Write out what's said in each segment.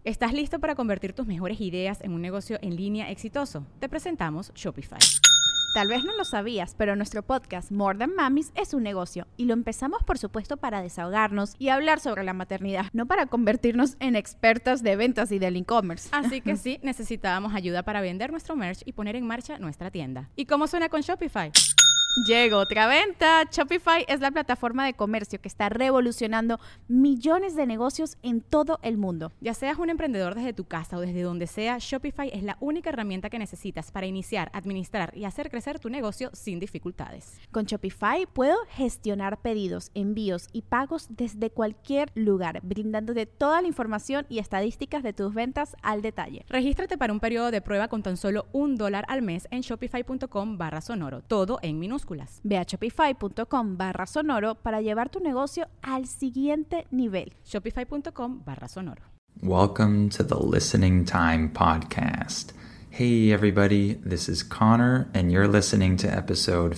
¿Estás listo para convertir tus mejores ideas en un negocio en línea exitoso? Te presentamos Shopify. Tal vez no lo sabías, pero nuestro podcast More Than Mamis es un negocio y lo empezamos por supuesto para desahogarnos y hablar sobre la maternidad, no para convertirnos en expertas de ventas y del e-commerce. Así que sí, necesitábamos ayuda para vender nuestro merch y poner en marcha nuestra tienda. ¿Y cómo suena con Shopify? Llegó otra venta. Shopify es la plataforma de comercio que está revolucionando millones de negocios en todo el mundo. Ya seas un emprendedor desde tu casa o desde donde sea, Shopify es la única herramienta que necesitas para iniciar, administrar y hacer crecer tu negocio sin dificultades. Con Shopify puedo gestionar pedidos, envíos y pagos desde cualquier lugar, brindándote toda la información y estadísticas de tus ventas al detalle. Regístrate para un periodo de prueba con tan solo $1 al mes en shopify.com/sonoro, todo en minúsculas. Ve a shopify.com/sonoro para llevar tu negocio al siguiente nivel. Shopify.com/sonoro. Welcome to the Listening Time Podcast. Hey everybody, this is Connor and you're listening to episode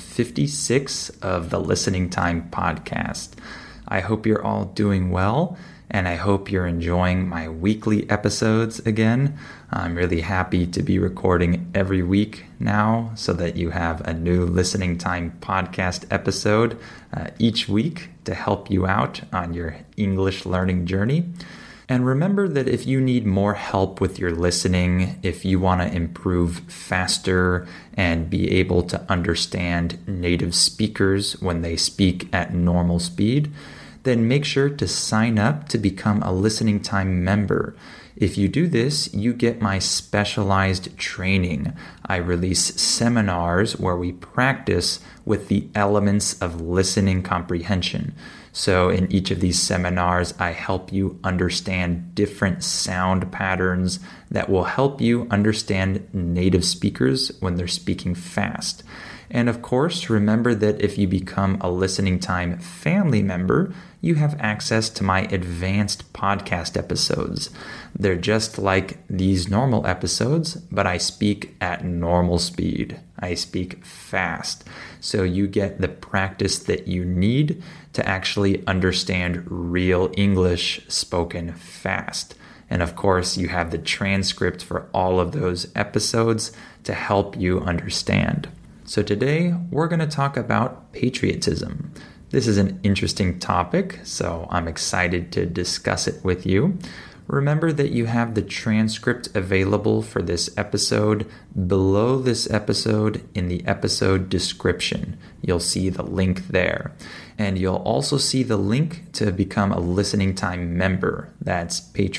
56 of the Listening Time Podcast. I hope you're all doing well and I hope you're enjoying my weekly episodes again. I'm really happy to be recording every week now so that you have a new Listening Time Podcast episode each week to help you out on your English learning journey. And remember that if you need more help with your listening, if you want to improve faster and be able to understand native speakers when they speak at normal speed, then make sure to sign up to become a Listening Time member. If you do this, you get my specialized training. I release seminars where we practice with the elements of listening comprehension. So in each of these seminars, I help you understand different sound patterns that will help you understand native speakers when they're speaking fast. And of course, remember that if you become a Listening Time family member, you have access to my advanced podcast episodes. They're just like these normal episodes, but I speak at normal speed. I speak fast. So you get the practice that you need to actually understand real English spoken fast. And of course, you have the transcript for all of those episodes to help you understand. So today, we're going to talk about patriotism. This is an interesting topic, so I'm excited to discuss it with you. Remember that you have the transcript available for this episode below this episode in the episode description. You'll see the link there. And you'll also see the link to become a Listening Time member. That's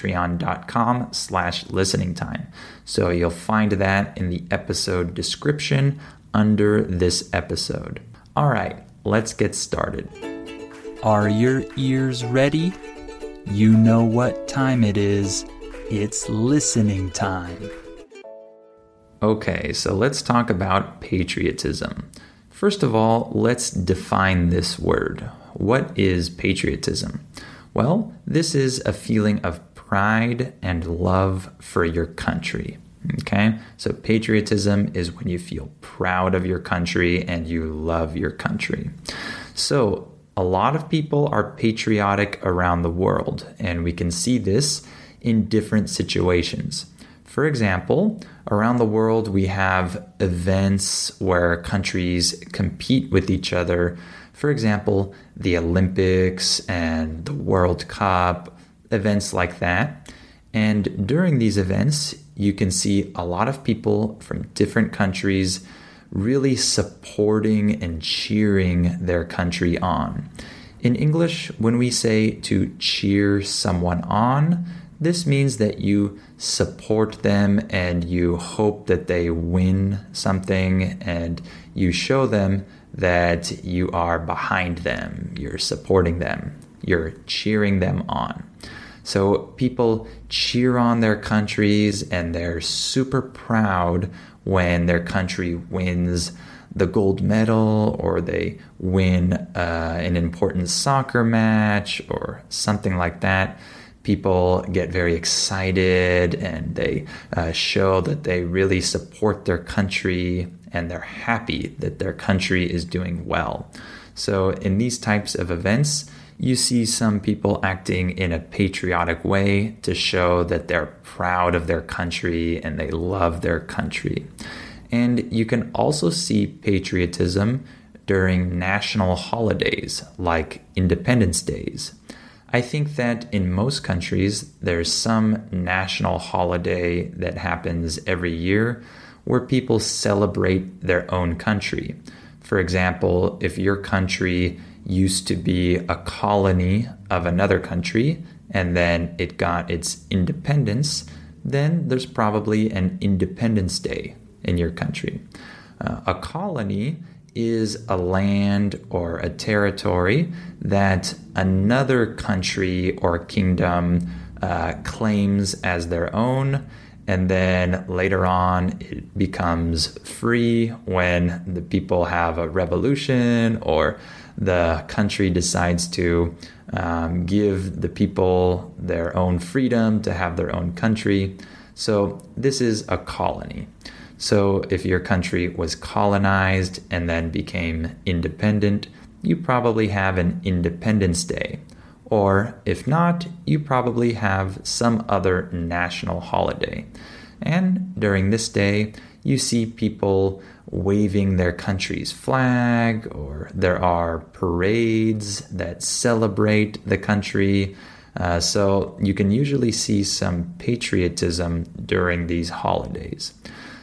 patreon.com/listeningtime. So you'll find that in the episode description under this episode. All right, let's get started. Are your ears ready? You know what time it is. It's listening time. Okay, so let's talk about patriotism. First of all, let's define this word. What is patriotism? Well, this is a feeling of pride and love for your country. Okay, so patriotism is when you feel proud of your country and you love your country. So a lot of people are patriotic around the world, and we can see this in different situations. For example, around the world, we have events where countries compete with each other. For example, the Olympics and the World Cup, events like that. And during these events, you can see a lot of people from different countries really supporting and cheering their country on. In English, when we say to cheer someone on, this means that you support them and you hope that they win something and you show them that you are behind them, you're supporting them, you're cheering them on. So people cheer on their countries and they're super proud when their country wins the gold medal or they win an important soccer match or something like that. People get very excited and they show that they really support their country and they're happy that their country is doing well. So in these types of events, you see some people acting in a patriotic way to show that they're proud of their country and they love their country. And you can also see patriotism during national holidays like Independence Days. I think that in most countries, there's some national holiday that happens every year where people celebrate their own country. For example, if your country used to be a colony of another country and then it got its independence, then there's probably an Independence Day in your country. A colony is a land or a territory that another country or kingdom claims as their own, and then later on it becomes free when the people have a revolution or the country decides to give the people their own freedom to have their own country. So this is a colony. So if your country was colonized and then became independent, you probably have an Independence Day. Or if not, you probably have some other national holiday. And during this day, you see people waving their country's flag, or there are parades that celebrate the country. So you can usually see some patriotism during these holidays.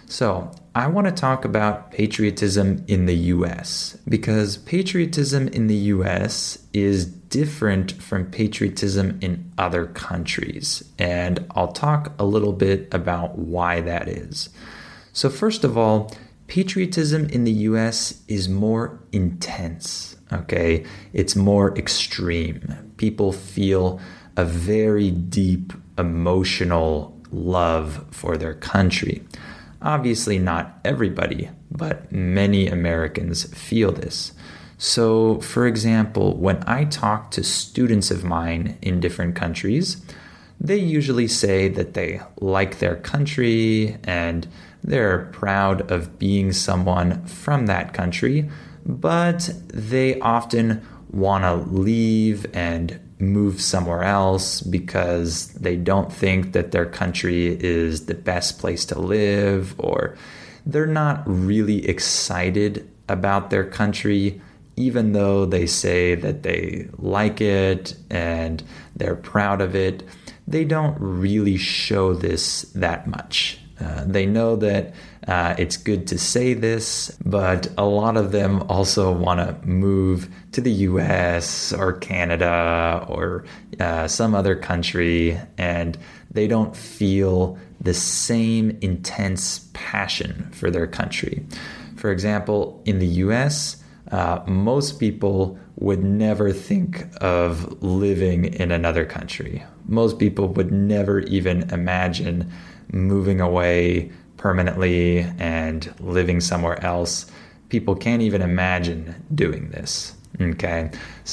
So I want to talk about patriotism in the US, because patriotism in the US is different from patriotism in other countries. And I'll talk a little bit about why that is. So first of all, patriotism in the US is more intense, okay? It's more extreme. People feel a very deep emotional love for their country. Obviously not everybody, but many Americans feel this. So, for example, when I talk to students of mine in different countries, they usually say that they like their country and they're proud of being someone from that country, but they often want to leave and move somewhere else because they don't think that their country is the best place to live, or they're not really excited about their country, even though they say that they like it and they're proud of it. They don't really show this that much. They know that it's good to say this, but a lot of them also want to move to the US or Canada or some other country, and they don't feel the same intense passion for their country. For example, in the US, most people would never think of living in another country. Most people would never even imagine moving away permanently and living somewhere else. People can't even imagine doing this. Okay,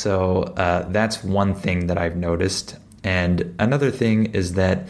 so that's one thing that I've noticed. And another thing is that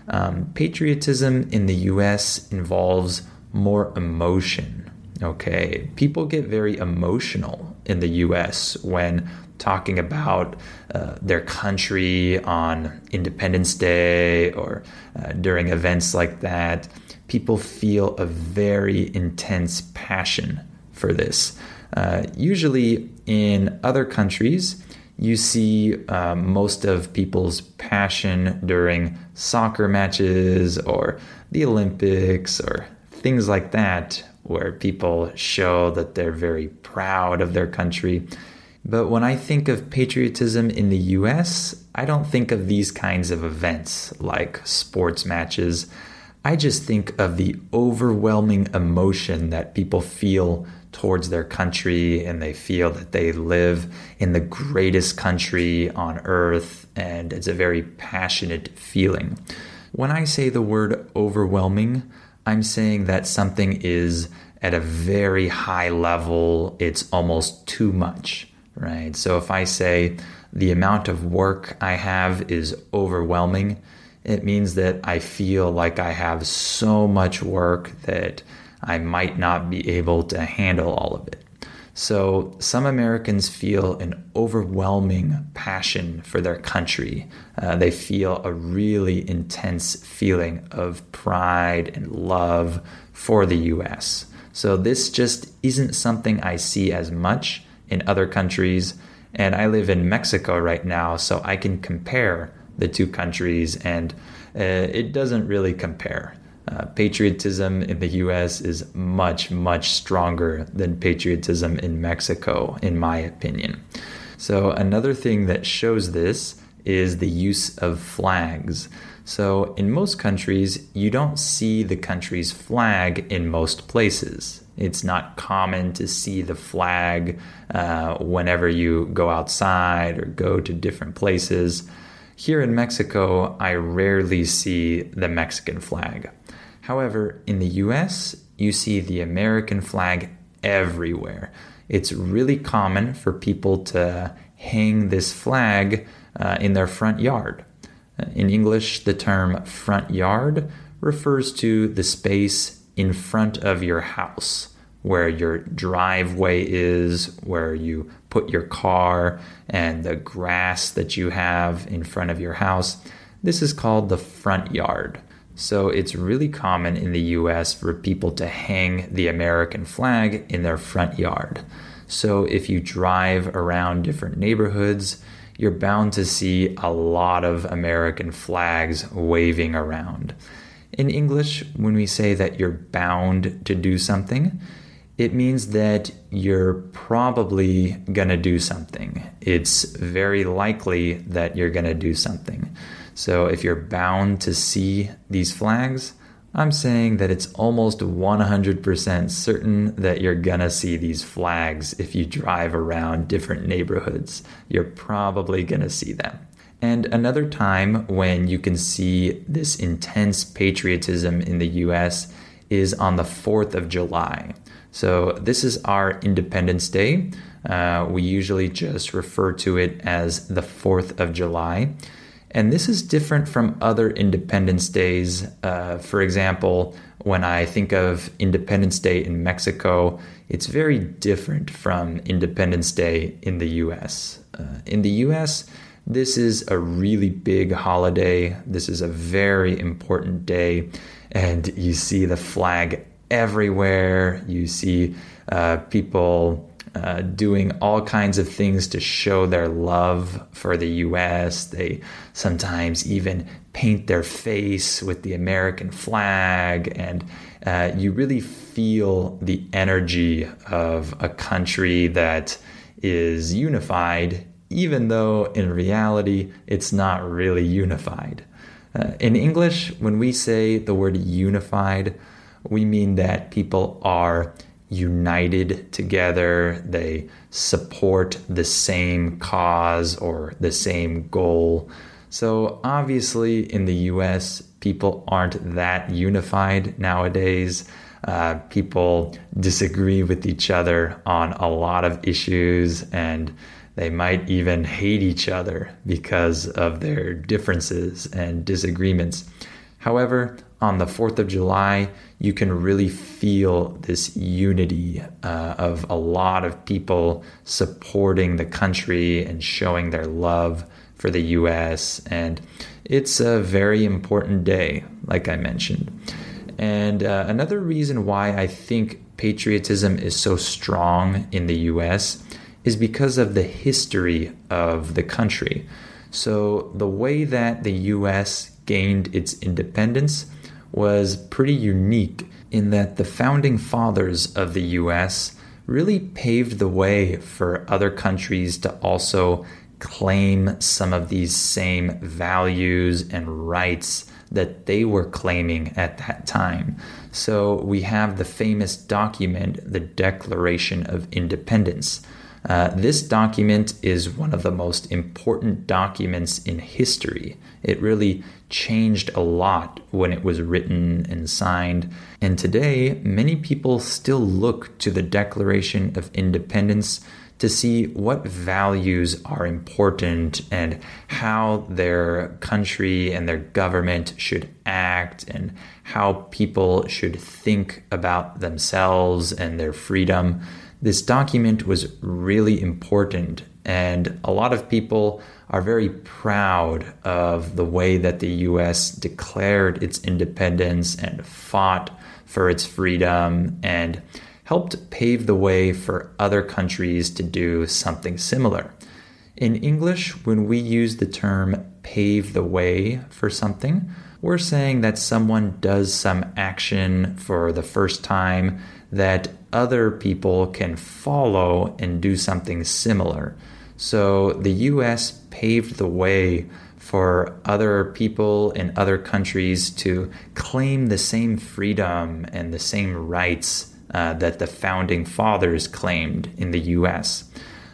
patriotism in the US involves more emotion. Okay, people get very emotional in the US when talking about their country on Independence Day or during events like that. People feel a very intense passion for this. Usually in other countries, you see most of people's passion during soccer matches or the Olympics or things like that, where people show that they're very proud of their country. But when I think of patriotism in the US, I don't think of these kinds of events like sports matches. I just think of the overwhelming emotion that people feel towards their country, and they feel that they live in the greatest country on earth, and it's a very passionate feeling. When I say the word overwhelming, I'm saying that something is at a very high level. It's almost too much, right? So if I say the amount of work I have is overwhelming, it means that I feel like I have so much work that I might not be able to handle all of it. So some Americans feel an overwhelming passion for their country. They feel a really intense feeling of pride and love for the U.S. So this just isn't something I see as much in other countries. And I live in Mexico right now, so I can compare the two countries, and it doesn't really compare. Patriotism in the U.S. is much, much stronger than patriotism in Mexico, in my opinion. So another thing that shows this is the use of flags. So in most countries, you don't see the country's flag in most places. It's not common to see the flag whenever you go outside or go to different places. Here in Mexico, I rarely see the Mexican flag. However, in the US, you see the American flag everywhere. It's really common for people to hang this flag in their front yard. In English, the term front yard refers to the space in front of your house, where your driveway is, where you put your car, and the grass that you have in front of your house. This is called the front yard. So it's really common in the US for people to hang the American flag in their front yard. So if you drive around different neighborhoods, you're bound to see a lot of American flags waving around. In English, when we say that you're bound to do something, it means that you're probably going to do something. It's very likely that you're going to do something. So if you're bound to see these flags, I'm saying that it's almost 100% certain that you're going to see these flags if you drive around different neighborhoods. You're probably going to see them. And another time when you can see this intense patriotism in the US is on the 4th of July. So this is our Independence Day. We usually just refer to it as the 4th of July. And this is different from other Independence Days. For example, when I think of Independence Day in Mexico, it's very different from Independence Day in the US. In the US, this is a really big holiday. This is a very important day. And you see the flag everywhere. You see people doing all kinds of things to show their love for the U.S. They sometimes even paint their face with the American flag, and you really feel the energy of a country that is unified, even though in reality it's not really unified. In English, when we say the word unified, we mean that people are united together. They support the same cause or the same goal. So obviously in the US, people aren't that unified nowadays. People disagree with each other on a lot of issues, and they might even hate each other because of their differences and disagreements. However, on the 4th of July, you can really feel this unity of a lot of people supporting the country and showing their love for the U.S. And it's a very important day, like I mentioned. And another reason why I think patriotism is so strong in the U.S. is because of the history of the country. So the way that the U.S. gained its independence was pretty unique in that the founding fathers of the U.S. really paved the way for other countries to also claim some of these same values and rights that they were claiming at that time. So we have the famous document, the Declaration of Independence. This document is one of the most important documents in history. It really changed a lot when it was written and signed. And today, many people still look to the Declaration of Independence to see what values are important and how their country and their government should act and how people should think about themselves and their freedom. This document was really important, and a lot of people are very proud of the way that the U.S. declared its independence and fought for its freedom and helped pave the way for other countries to do something similar. In English, when we use the term pave the way for something, we're saying that someone does some action for the first time that other people can follow and do something similar. So the US paved the way for other people in other countries to claim the same freedom and the same rights that the founding fathers claimed in the US.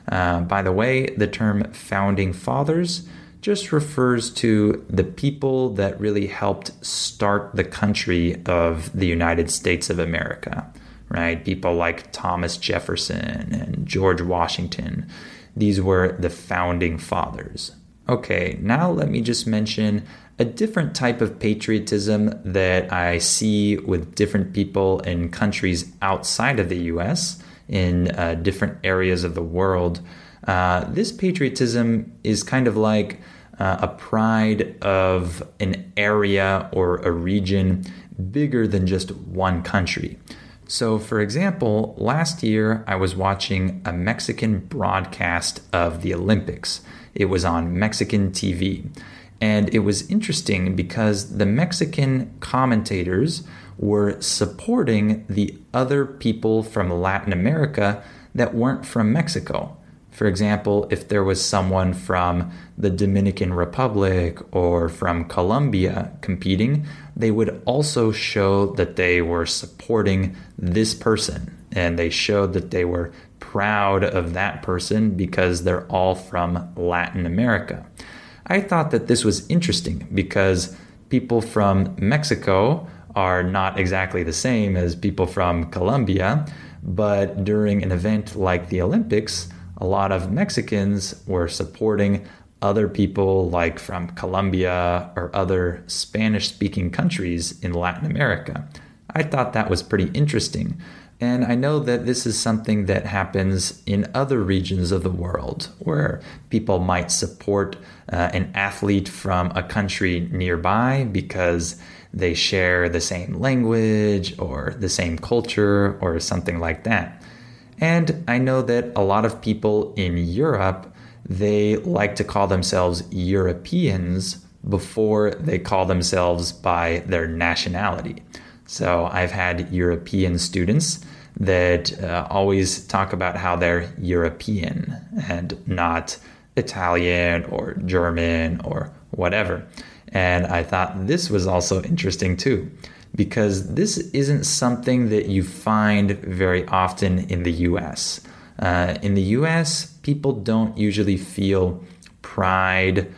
By the way, the term founding fathers just refers to the people that really helped start the country of the United States of America, right? People like Thomas Jefferson and George Washington. These were the founding fathers. Okay, now let me just mention a different type of patriotism that I see with different people in countries outside of the US, in different areas of the world. This patriotism is kind of like a pride of an area or a region bigger than just one country. So, for example, last year I was watching a Mexican broadcast of the Olympics. It was on Mexican TV. And it was interesting because the Mexican commentators were supporting the other people from Latin America that weren't from Mexico. For example, if there was someone from the Dominican Republic or from Colombia competing, they would also show that they were supporting this person. And they showed that they were proud of that person because they're all from Latin America. I thought that this was interesting because people from Mexico are not exactly the same as people from Colombia, but during an event like the Olympics, a lot of Mexicans were supporting other people like from Colombia or other Spanish-speaking countries in Latin America. I thought that was pretty interesting. And I know that this is something that happens in other regions of the world where people might support an athlete from a country nearby because they share the same language or the same culture or something like that. And I know that a lot of people in Europe, they like to call themselves Europeans before they call themselves by their nationality. So I've had European students that always talk about how they're European and not Italian or German or whatever. And I thought this was also interesting too, because this isn't something that you find very often in the US. In the US, people don't usually feel pride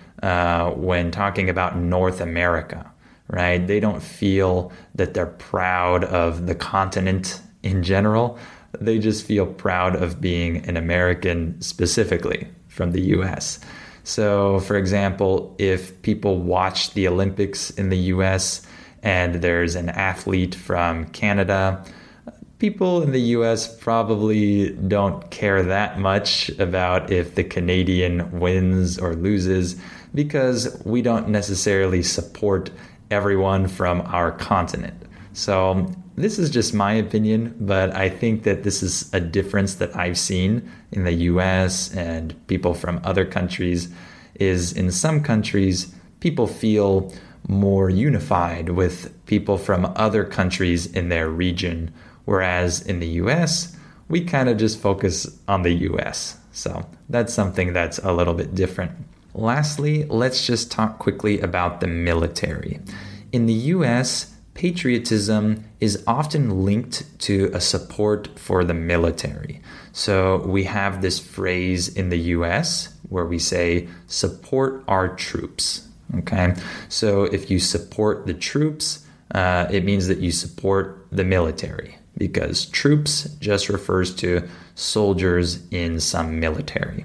when talking about North America. Right? They don't feel that they're proud of the continent in general. They just feel proud of being an American specifically from the US. So, for example, if people watch the Olympics in the US and there's an athlete from Canada, people in the US probably don't care that much about if the Canadian wins or loses because we don't necessarily support everyone from our continent. So this is just my opinion, but I think that this is a difference that I've seen in the US and people from other countries is in some countries, people feel more unified with people from other countries in their region, whereas in the US, we kind of just focus on the US. So that's something that's a little bit different. Lastly, let's just talk quickly about the military. In the US, patriotism is often linked to a support for the military. So we have this phrase in the US where we say, support our troops. Okay, so if you support the troops, it means that you support the military because troops just refers to soldiers in some military.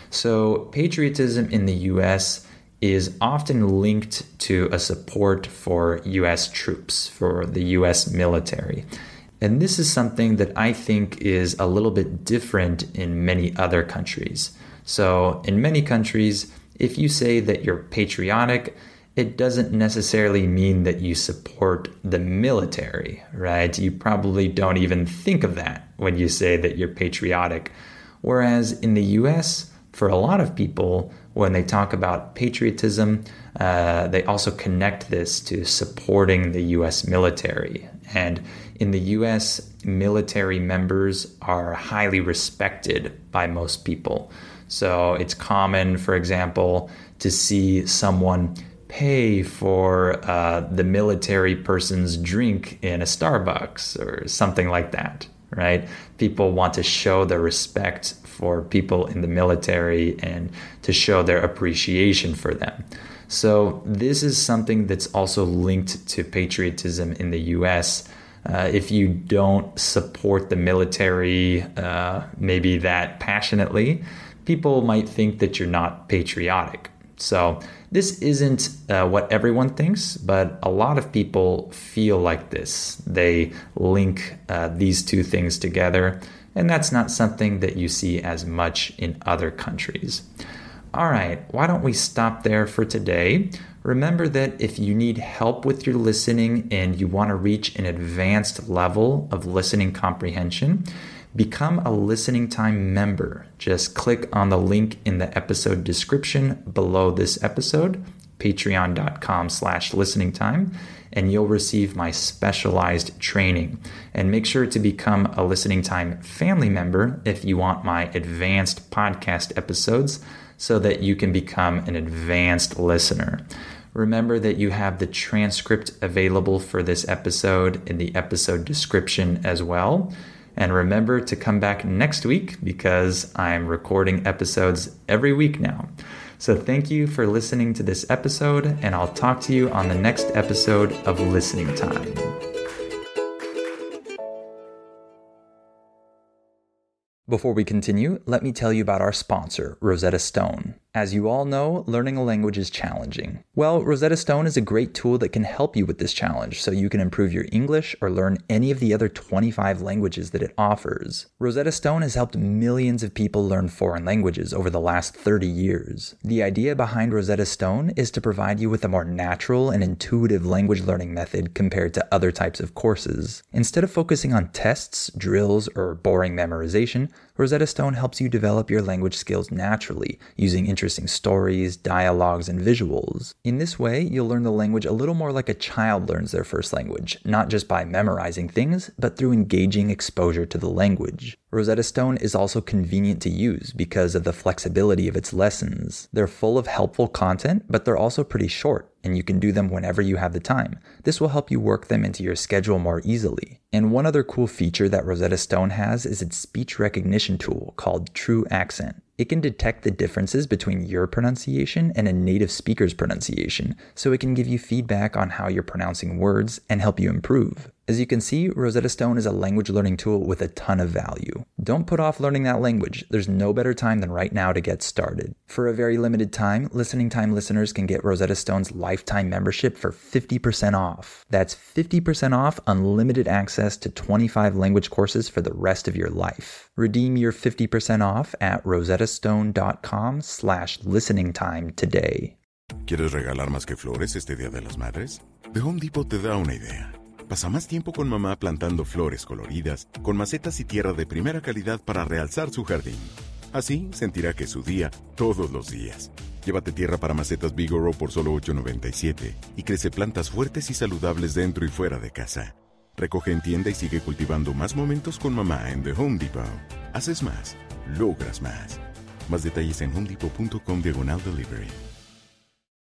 So patriotism in the US is often linked to a support for US troops, for the US military. And this is something that I think is a little bit different in many other countries. So in many countries, if you say that you're patriotic, it doesn't necessarily mean that you support the military, right? You probably don't even think of that when you say that you're patriotic. Whereas in the US, for a lot of people, when they talk about patriotism, they also connect this to supporting the US military. And in the US, military members are highly respected by most people. So it's common, for example, to see someone pay for the military person's drink in a Starbucks or something like that, right? People want to show their respect for people in the military and to show their appreciation for them. So this is something that's also linked to patriotism in the US. If you don't support the military, maybe that passionately, people might think that you're not patriotic. So this isn't what everyone thinks, but a lot of people feel like this. They link these two things together, and that's not something that you see as much in other countries. All right, why don't we stop there for today? Remember that if you need help with your listening and you want to reach an advanced level of listening comprehension, become a Listening Time member. Just click on the link in the episode description below this episode, patreon.com/listeningtime, and you'll receive my specialized training. And make sure to become a Listening Time family member if you want my advanced podcast episodes so that you can become an advanced listener. Remember that you have the transcript available for this episode in the episode description as well. And remember to come back next week because I'm recording episodes every week now. So thank you for listening to this episode, and I'll talk to you on the next episode of Listening Time. Before we continue, let me tell you about our sponsor, Rosetta Stone. As you all know, learning a language is challenging. Well, Rosetta Stone is a great tool that can help you with this challenge so you can improve your English or learn any of the other 25 languages that it offers. Rosetta Stone has helped millions of people learn foreign languages over the last 30 years. The idea behind Rosetta Stone is to provide you with a more natural and intuitive language learning method compared to other types of courses. Instead of focusing on tests, drills, or boring memorization, Rosetta Stone helps you develop your language skills naturally, using interesting stories, dialogues, and visuals. In this way, you'll learn the language a little more like a child learns their first language, not just by memorizing things, but through engaging exposure to the language. Rosetta Stone is also convenient to use because of the flexibility of its lessons. They're full of helpful content, but they're also pretty short, and you can do them whenever you have the time. This will help you work them into your schedule more easily. And one other cool feature that Rosetta Stone has is its speech recognition tool called True Accent. It can detect the differences between your pronunciation and a native speaker's pronunciation, so it can give you feedback on how you're pronouncing words and help you improve. As you can see, Rosetta Stone is a language learning tool with a ton of value. Don't put off learning that language. There's no better time than right now to get started. For a very limited time, Listening Time listeners can get Rosetta Stone's lifetime membership for 50% off. That's 50% off unlimited access to 25 language courses for the rest of your life. Redeem your 50% off at rosettastone.com/listeningtime today. ¿Quieres regalar más que flores este Día de las Madres? The Home Depot te da una idea. Pasa más tiempo con mamá plantando flores coloridas, con macetas y tierra de primera calidad para realzar su jardín. Así sentirá que es su día todos los días. Llévate tierra para macetas Bigoro por solo $8.97 y crece plantas fuertes y saludables dentro y fuera de casa. Recoge en tienda y sigue cultivando más momentos con mamá en The Home Depot. Haces más, logras más. Más detalles en homedepot.com/delivery.